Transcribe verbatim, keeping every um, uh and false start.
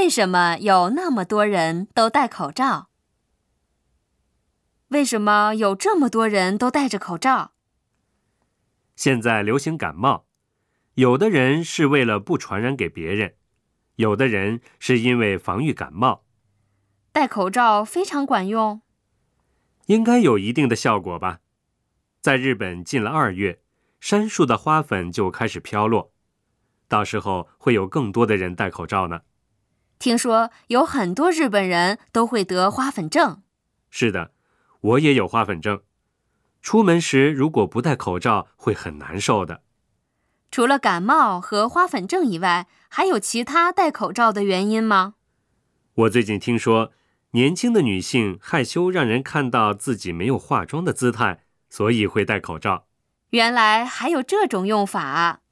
为什么有那么多人都戴口罩？为什么有这么多人都戴着口罩？ 现在流行感冒，有的人是为了不传染给别人，有的人是因为防御感冒。 戴口罩非常管用？ 应该有一定的效果吧。在日本进了二月，杉树的花粉就开始飘落，到时候会有更多的人戴口罩呢。 听说有很多日本人都会得花粉症。 是的，我也有花粉症。出门时如果不戴口罩会很难受的。 除了感冒和花粉症以外，还有其他戴口罩的原因吗？ 我最近听说，年轻的女性害羞让人看到自己没有化妆的姿态，所以会戴口罩。 原来还有这种用法啊。